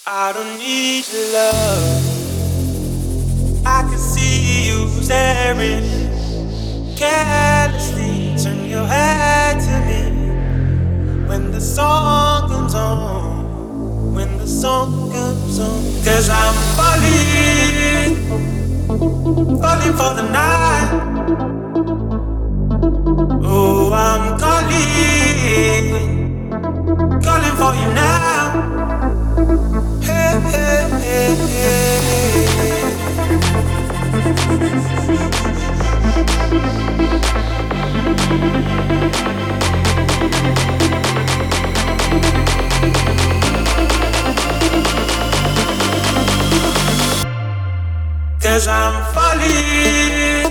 I don't need your love. I can see you staring carelessly. Turn your head to me when the song comes on. When the song comes on. 'Cause I'm falling, falling for the night. Oh, I'm calling, calling for you now. Hey, hey, hey, hey. 'Cause I'm falling.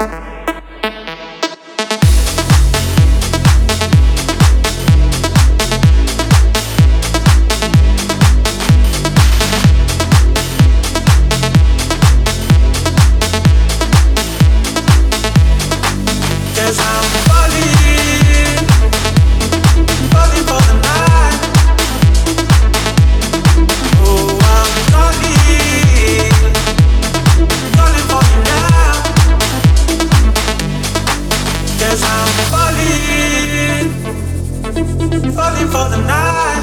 Falling for the night.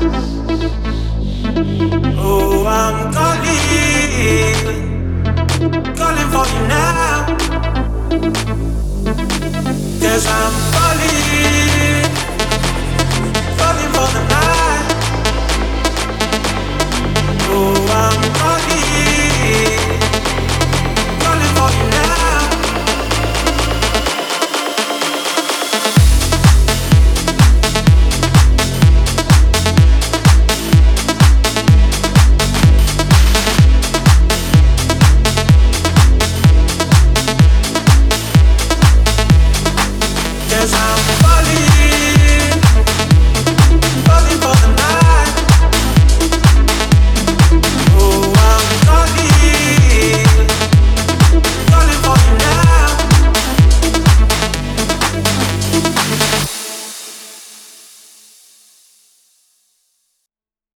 Oh, I'm calling, calling for you now. 'Cause I'm falling.